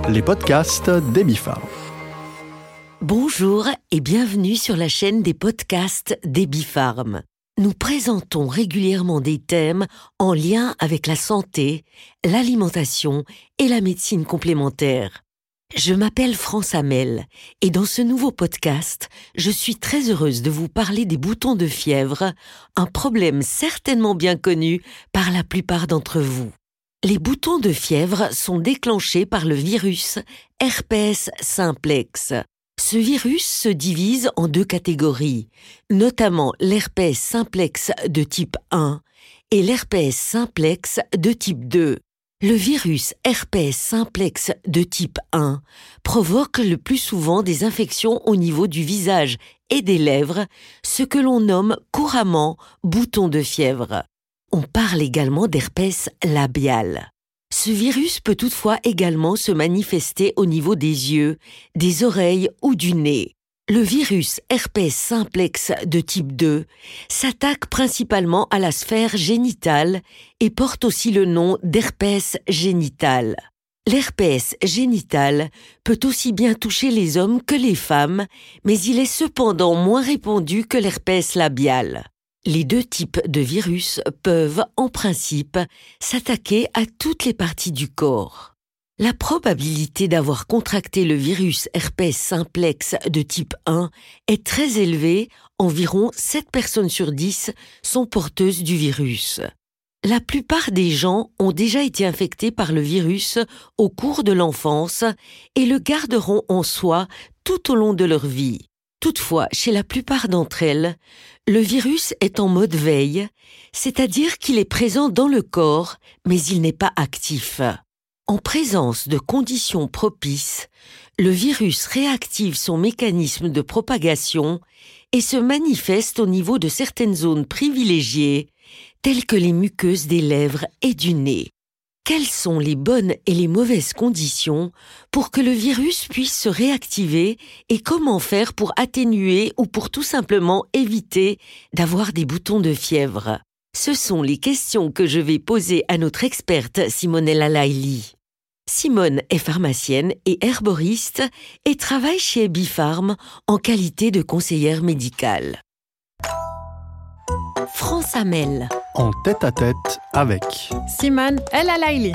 les podcasts d'Ebifarm. Bonjour et bienvenue sur la chaîne des podcasts d'Ebifarm. Nous présentons régulièrement des thèmes en lien avec la santé, l'alimentation et la médecine complémentaire. Je m'appelle France Hamel et dans ce nouveau podcast, je suis très heureuse de vous parler des boutons de fièvre, un problème certainement bien connu par la plupart d'entre vous. Les boutons de fièvre sont déclenchés par le virus herpès simplex. Ce virus se divise en deux catégories, notamment l'herpès simplex de type 1 et l'herpès simplex de type 2. Le virus herpès simplex de type 1 provoque le plus souvent des infections au niveau du visage et des lèvres, ce que l'on nomme couramment boutons de fièvre. On parle également d'herpès labial. Ce virus peut toutefois également se manifester au niveau des yeux, des oreilles ou du nez. Le virus herpès simplex de type 2 s'attaque principalement à la sphère génitale et porte aussi le nom d'herpès génital. L'herpès génital peut aussi bien toucher les hommes que les femmes, mais il est cependant moins répandu que l'herpès labial. Les deux types de virus peuvent, en principe, s'attaquer à toutes les parties du corps. La probabilité d'avoir contracté le virus herpès simplex de type 1 est très élevée, environ 7 personnes sur 10 sont porteuses du virus. La plupart des gens ont déjà été infectés par le virus au cours de l'enfance et le garderont en soi tout au long de leur vie. Toutefois, chez la plupart d'entre elles, le virus est en mode veille, c'est-à-dire qu'il est présent dans le corps, mais il n'est pas actif. En présence de conditions propices, le virus réactive son mécanisme de propagation et se manifeste au niveau de certaines zones privilégiées, telles que les muqueuses des lèvres et du nez. Quelles sont les bonnes et les mauvaises conditions pour que le virus puisse se réactiver et comment faire pour atténuer ou pour tout simplement éviter d'avoir des boutons de fièvre? Ce sont les questions que je vais poser à notre experte Simonella Laili. Simone est pharmacienne et herboriste et travaille chez Ebifarm en qualité de conseillère médicale. France Hamel. En tête-à-tête avec Simone El Laili.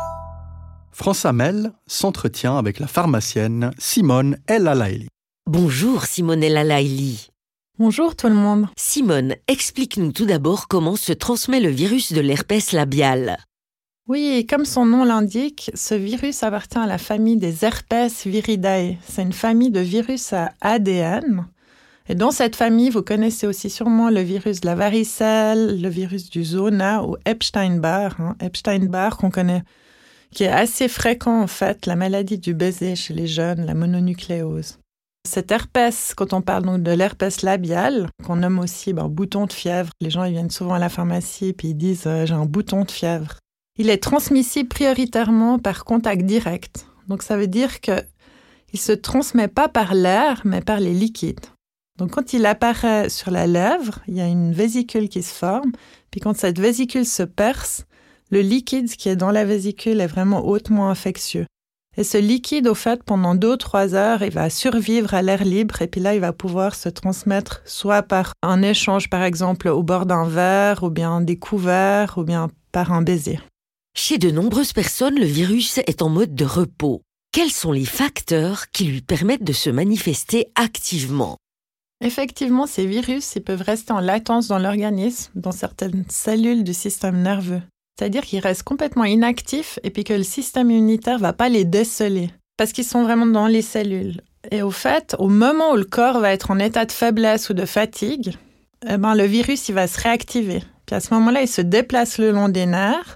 France Hamel s'entretient avec la pharmacienne Simone El Laili. Bonjour Simonella Laili. Bonjour tout le monde. Simone, explique-nous tout d'abord comment se transmet le virus de l'herpès labial. Oui, comme son nom l'indique, ce virus appartient à la famille des Herpes viridae. C'est une famille de virus à ADN. Et dans cette famille, vous connaissez aussi sûrement le virus de la varicelle, le virus du zona ou Epstein-Barr. Epstein-Barr qu'on connaît, qui est assez fréquent en fait, la maladie du baiser chez les jeunes, la mononucléose. Cet herpès, quand on parle donc de l'herpès labial, qu'on nomme aussi bouton de fièvre, les gens ils viennent souvent à la pharmacie et puis ils disent j'ai un bouton de fièvre. Il est transmissible prioritairement par contact direct. Donc ça veut dire qu'il ne se transmet pas par l'air, mais par les liquides. Donc, quand il apparaît sur la lèvre, il y a une vésicule qui se forme. Puis, quand cette vésicule se perce, le liquide qui est dans la vésicule est vraiment hautement infectieux. Et ce liquide, au fait, pendant 2 ou 3 heures, il va survivre à l'air libre. Et puis là, il va pouvoir se transmettre soit par un échange, par exemple, au bord d'un verre, ou bien des couverts, ou bien par un baiser. Chez de nombreuses personnes, le virus est en mode de repos. Quels sont les facteurs qui lui permettent de se manifester activement ? Effectivement, ces virus ils peuvent rester en latence dans l'organisme, dans certaines cellules du système nerveux. C'est-à-dire qu'ils restent complètement inactifs et puis que le système immunitaire ne va pas les déceler parce qu'ils sont vraiment dans les cellules. Et au fait, au moment où le corps va être en état de faiblesse ou de fatigue, le virus il va se réactiver. Puis à ce moment-là, il se déplace le long des nerfs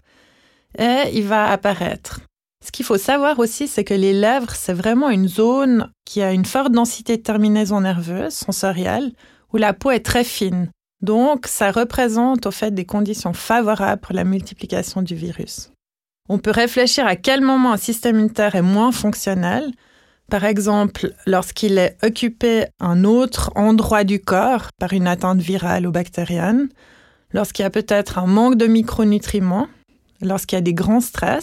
et il va apparaître. Ce qu'il faut savoir aussi, c'est que les lèvres, c'est vraiment une zone qui a une forte densité de terminaisons nerveuses, sensorielles, où la peau est très fine. Donc, ça représente au fait des conditions favorables pour la multiplication du virus. On peut réfléchir à quel moment un système immunitaire est moins fonctionnel. Par exemple, lorsqu'il est occupé à un autre endroit du corps par une atteinte virale ou bactérienne, lorsqu'il y a peut-être un manque de micronutriments, lorsqu'il y a des grands stress,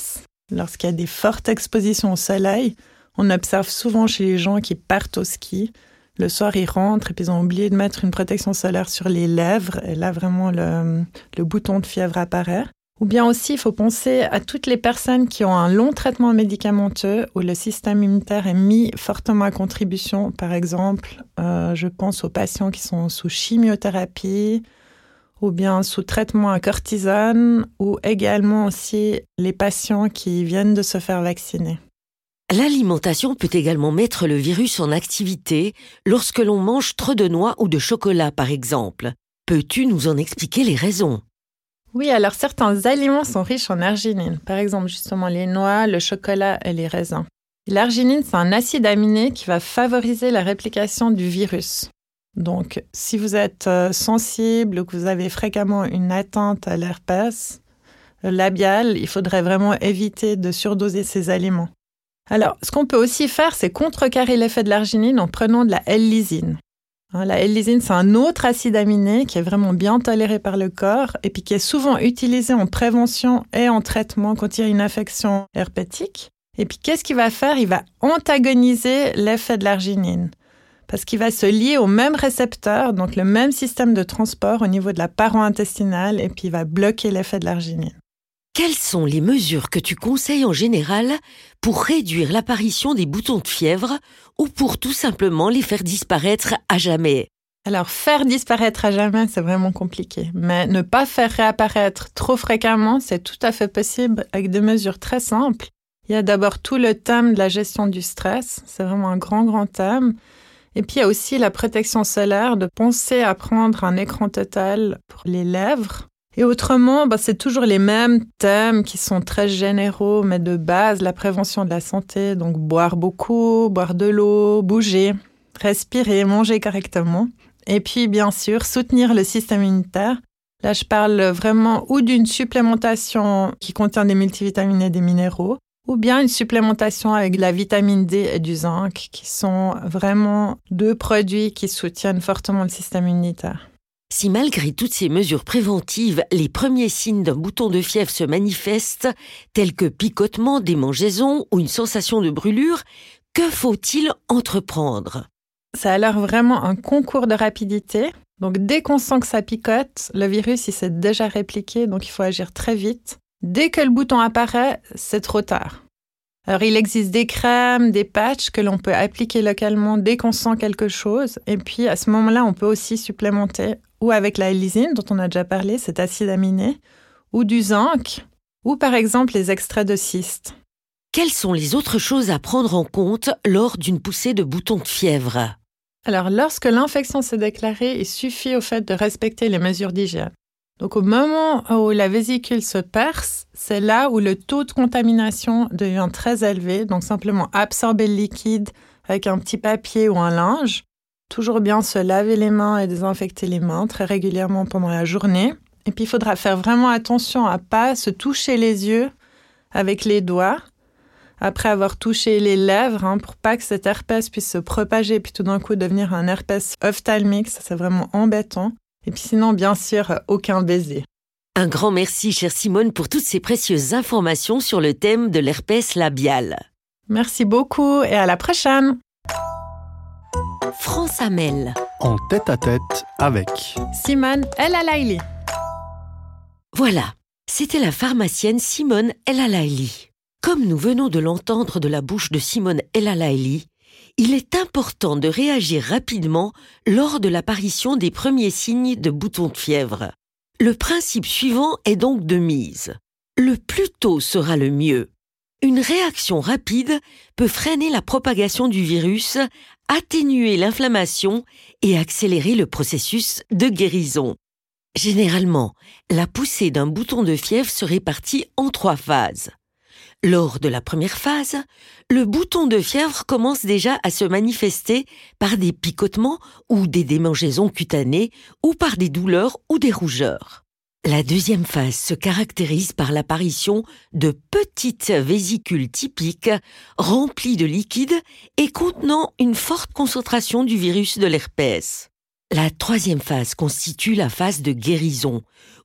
lorsqu'il y a des fortes expositions au soleil. On observe souvent chez les gens qui partent au ski. Le soir, ils rentrent et puis ils ont oublié de mettre une protection solaire sur les lèvres. Et là, vraiment, le bouton de fièvre apparaît. Ou bien aussi, il faut penser à toutes les personnes qui ont un long traitement médicamenteux où le système immunitaire est mis fortement à contribution. Par exemple, je pense aux patients qui sont sous chimiothérapie ou bien sous traitement à cortisone ou également aussi les patients qui viennent de se faire vacciner. L'alimentation peut également mettre le virus en activité lorsque l'on mange trop de noix ou de chocolat, par exemple. Peux-tu nous en expliquer les raisons ? Oui, alors certains aliments sont riches en arginine. Par exemple, justement, les noix, le chocolat et les raisins. L'arginine, c'est un acide aminé qui va favoriser la réplication du virus. Donc, si vous êtes sensible ou que vous avez fréquemment une atteinte à l'herpès labial, il faudrait vraiment éviter de surdoser ces aliments. Alors, ce qu'on peut aussi faire, c'est contrecarrer l'effet de l'arginine en prenant de la L-lysine. La L-lysine, c'est un autre acide aminé qui est vraiment bien toléré par le corps et puis qui est souvent utilisé en prévention et en traitement quand il y a une infection herpétique. Et puis, qu'est-ce qu'il va faire ? Il va antagoniser l'effet de l'arginine parce qu'il va se lier au même récepteur, donc le même système de transport au niveau de la paroi intestinale et puis il va bloquer l'effet de l'arginine. Quelles sont les mesures que tu conseilles en général pour réduire l'apparition des boutons de fièvre ou pour tout simplement les faire disparaître à jamais ? Alors, faire disparaître à jamais, c'est vraiment compliqué. Mais ne pas faire réapparaître trop fréquemment, c'est tout à fait possible avec des mesures très simples. Il y a d'abord tout le thème de la gestion du stress. C'est vraiment un grand thème. Et puis, il y a aussi la protection solaire, de penser à prendre un écran total pour les lèvres. Et autrement, c'est toujours les mêmes thèmes qui sont très généraux, mais de base, la prévention de la santé. Donc, boire beaucoup, boire de l'eau, bouger, respirer, manger correctement. Et puis, bien sûr, soutenir le système immunitaire. Là, je parle vraiment ou d'une supplémentation qui contient des multivitamines et des minéraux, ou bien une supplémentation avec de la vitamine D et du zinc, qui sont vraiment deux produits qui soutiennent fortement le système immunitaire. Si malgré toutes ces mesures préventives, les premiers signes d'un bouton de fièvre se manifestent, tels que picotement, démangeaison ou une sensation de brûlure, que faut-il entreprendre ? Ça a l'air vraiment un concours de rapidité. Donc, dès qu'on sent que ça picote, le virus, il s'est déjà répliqué, donc il faut agir très vite. Dès que le bouton apparaît, c'est trop tard. Alors, il existe des crèmes, des patchs que l'on peut appliquer localement dès qu'on sent quelque chose. Et puis, à ce moment-là, on peut aussi supplémenter ou avec la L-lysine, dont on a déjà parlé, cet acide aminé, ou du zinc, ou par exemple les extraits de cystes. Quelles sont les autres choses à prendre en compte lors d'une poussée de boutons de fièvre ? Alors, lorsque l'infection s'est déclarée, il suffit au fait de respecter les mesures d'hygiène. Donc, au moment où la vésicule se perce, c'est là où le taux de contamination devient très élevé. Donc, simplement absorber le liquide avec un petit papier ou un linge. Toujours bien se laver les mains et désinfecter les mains très régulièrement pendant la journée. Et puis, il faudra faire vraiment attention à ne pas se toucher les yeux avec les doigts après avoir touché les lèvres pour pas que cet herpès puisse se propager et puis tout d'un coup devenir un herpès ophtalmique. Ça, c'est vraiment embêtant. Et puis sinon, bien sûr, aucun baiser. Un grand merci, chère Simone, pour toutes ces précieuses informations sur le thème de l'herpès labial. Merci beaucoup et à la prochaine. France Amel. En tête-à-tête avec Simone El Alaili. Voilà, c'était la pharmacienne Simone El Alaili. Comme nous venons de l'entendre de la bouche de Simone El Alaili, il est important de réagir rapidement lors de l'apparition des premiers signes de boutons de fièvre. Le principe suivant est donc de mise. Le plus tôt sera le mieux. Une réaction rapide peut freiner la propagation du virus, atténuer l'inflammation et accélérer le processus de guérison. Généralement, la poussée d'un bouton de fièvre se répartit en 3 phases. Lors de la première phase, le bouton de fièvre commence déjà à se manifester par des picotements ou des démangeaisons cutanées ou par des douleurs ou des rougeurs. La deuxième phase se caractérise par l'apparition de petites vésicules typiques remplies de liquide et contenant une forte concentration du virus de l'herpès. La troisième phase constitue la phase de guérison,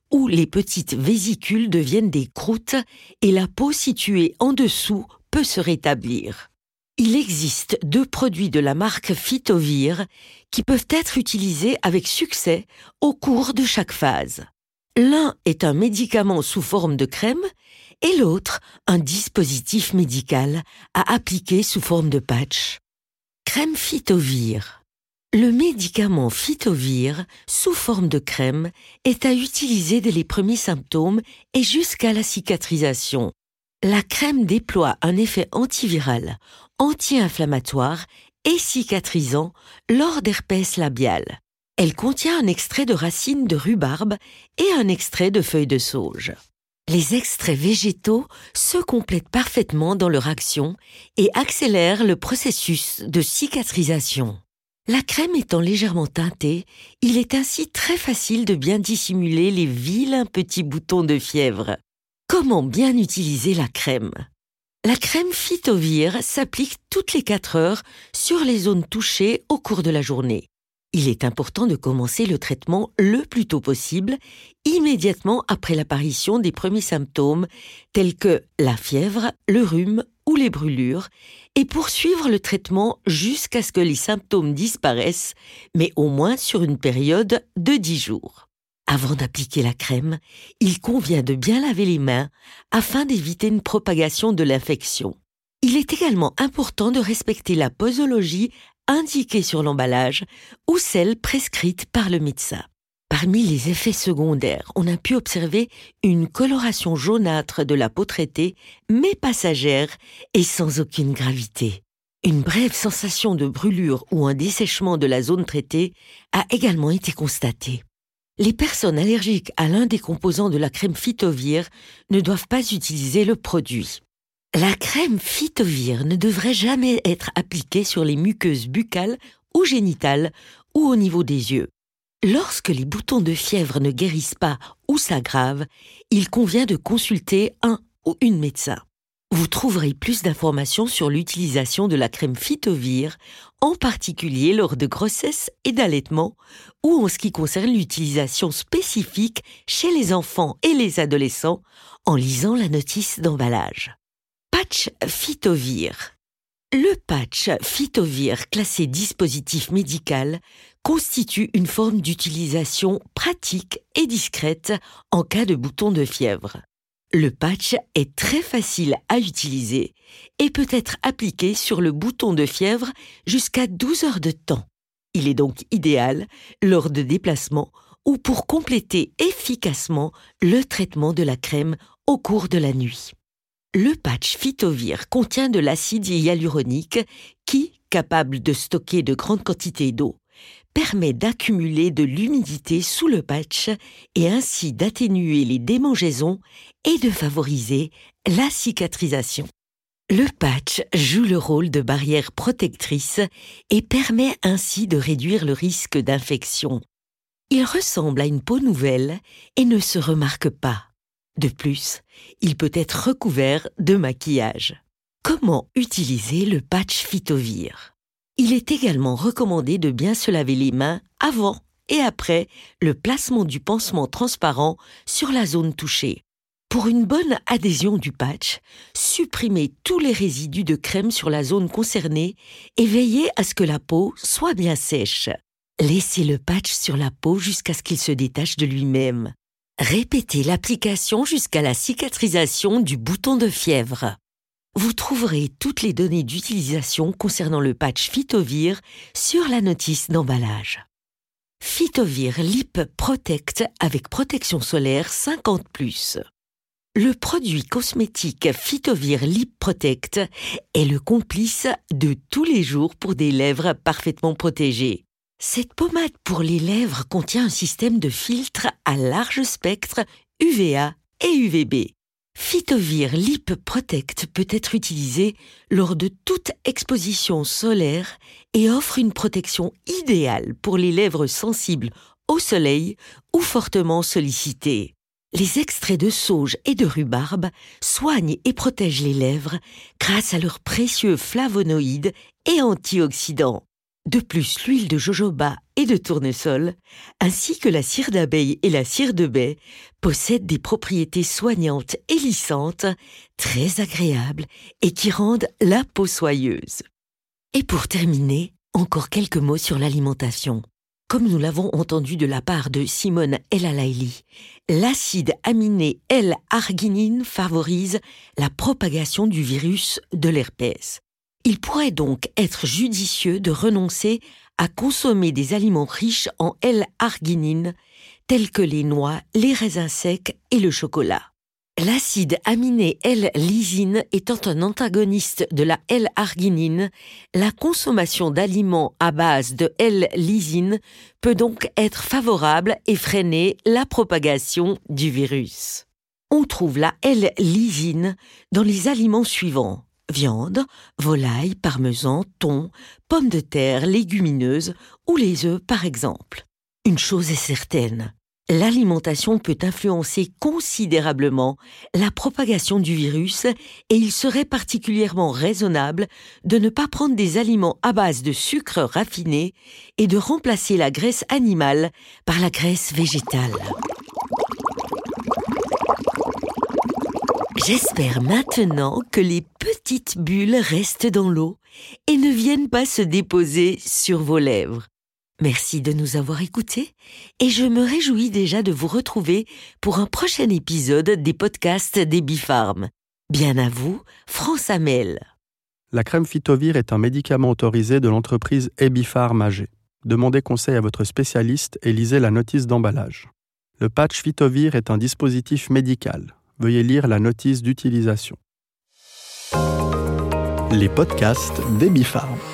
où les petites vésicules deviennent des croûtes et la peau située en dessous peut se rétablir. Il existe 2 produits de la marque Phytovir qui peuvent être utilisés avec succès au cours de chaque phase. L'un est un médicament sous forme de crème et l'autre un dispositif médical à appliquer sous forme de patch. Crème Phytovir. Le médicament Phytovir, sous forme de crème, est à utiliser dès les premiers symptômes et jusqu'à la cicatrisation. La crème déploie un effet antiviral, anti-inflammatoire et cicatrisant lors d'herpès labial. Elle contient un extrait de racines de rhubarbe et un extrait de feuilles de sauge. Les extraits végétaux se complètent parfaitement dans leur action et accélèrent le processus de cicatrisation. La crème étant légèrement teintée, il est ainsi très facile de bien dissimuler les vilains petits boutons de fièvre. Comment bien utiliser la crème ? La crème Phytovir s'applique toutes les 4 heures sur les zones touchées au cours de la journée. Il est important de commencer le traitement le plus tôt possible, immédiatement après l'apparition des premiers symptômes tels que la fièvre, le rhume ou les brûlures, et poursuivre le traitement jusqu'à ce que les symptômes disparaissent, mais au moins sur une période de 10 jours. Avant d'appliquer la crème, il convient de bien laver les mains afin d'éviter une propagation de l'infection. Il est également important de respecter la posologie indiquée sur l'emballage ou celle prescrite par le médecin. Parmi les effets secondaires, on a pu observer une coloration jaunâtre de la peau traitée, mais passagère et sans aucune gravité. Une brève sensation de brûlure ou un dessèchement de la zone traitée a également été constatée. Les personnes allergiques à l'un des composants de la crème Phytovir ne doivent pas utiliser le produit. La crème Phytovir ne devrait jamais être appliquée sur les muqueuses buccales ou génitales ou au niveau des yeux. Lorsque les boutons de fièvre ne guérissent pas ou s'aggravent, il convient de consulter un ou une médecin. Vous trouverez plus d'informations sur l'utilisation de la crème Phytovir, en particulier lors de grossesse et d'allaitement, ou en ce qui concerne l'utilisation spécifique chez les enfants et les adolescents, en lisant la notice d'emballage. Patch Phytovir. Le patch Phytovir classé dispositif médical constitue une forme d'utilisation pratique et discrète en cas de boutons de fièvre. Le patch est très facile à utiliser et peut être appliqué sur le bouton de fièvre jusqu'à 12 heures de temps. Il est donc idéal lors de déplacements ou pour compléter efficacement le traitement de la crème au cours de la nuit. Le patch Phytovir contient de l'acide hyaluronique qui, capable de stocker de grandes quantités d'eau, permet d'accumuler de l'humidité sous le patch et ainsi d'atténuer les démangeaisons et de favoriser la cicatrisation. Le patch joue le rôle de barrière protectrice et permet ainsi de réduire le risque d'infection. Il ressemble à une peau nouvelle et ne se remarque pas. De plus, il peut être recouvert de maquillage. Comment utiliser le patch Phytovir ? Il est également recommandé de bien se laver les mains avant et après le placement du pansement transparent sur la zone touchée. Pour une bonne adhésion du patch, supprimez tous les résidus de crème sur la zone concernée et veillez à ce que la peau soit bien sèche. Laissez le patch sur la peau jusqu'à ce qu'il se détache de lui-même. Répétez l'application jusqu'à la cicatrisation du bouton de fièvre. Vous trouverez toutes les données d'utilisation concernant le patch Phytovir sur la notice d'emballage. Phytovir Lip Protect avec protection solaire 50+. Le produit cosmétique Phytovir Lip Protect est le complice de tous les jours pour des lèvres parfaitement protégées. Cette pommade pour les lèvres contient un système de filtres à large spectre UVA et UVB. Phytovir Lip Protect peut être utilisé lors de toute exposition solaire et offre une protection idéale pour les lèvres sensibles au soleil ou fortement sollicitées. Les extraits de sauge et de rhubarbe soignent et protègent les lèvres grâce à leurs précieux flavonoïdes et antioxydants. De plus, l'huile de jojoba et de tournesol, ainsi que la cire d'abeille et la cire de baie, possèdent des propriétés soignantes et lissantes, très agréables et qui rendent la peau soyeuse. Et pour terminer, encore quelques mots sur l'alimentation. Comme nous l'avons entendu de la part de Simone El Alaili, l'acide aminé L-arginine favorise la propagation du virus de l'herpès. Il pourrait donc être judicieux de renoncer à consommer des aliments riches en L-arginine, tels que les noix, les raisins secs et le chocolat. L'acide aminé L-lysine étant un antagoniste de la L-arginine, la consommation d'aliments à base de L-lysine peut donc être favorable et freiner la propagation du virus. On trouve la L-lysine dans les aliments suivants: viande, volaille, parmesan, thon, pommes de terre, légumineuses ou les œufs par exemple. Une chose est certaine, l'alimentation peut influencer considérablement la propagation du virus et il serait particulièrement raisonnable de ne pas prendre des aliments à base de sucre raffiné et de remplacer la graisse animale par la graisse végétale. J'espère maintenant que les petites bulles restent dans l'eau et ne viennent pas se déposer sur vos lèvres. Merci de nous avoir écoutés et je me réjouis déjà de vous retrouver pour un prochain épisode des podcasts d'Ebifarm. Bien à vous, France Amel. La crème Phytovir est un médicament autorisé de l'entreprise Ebifarm AG. Demandez conseil à votre spécialiste et lisez la notice d'emballage. Le patch Phytovir est un dispositif médical. Veuillez lire la notice d'utilisation. Les podcasts d'Ebifarm.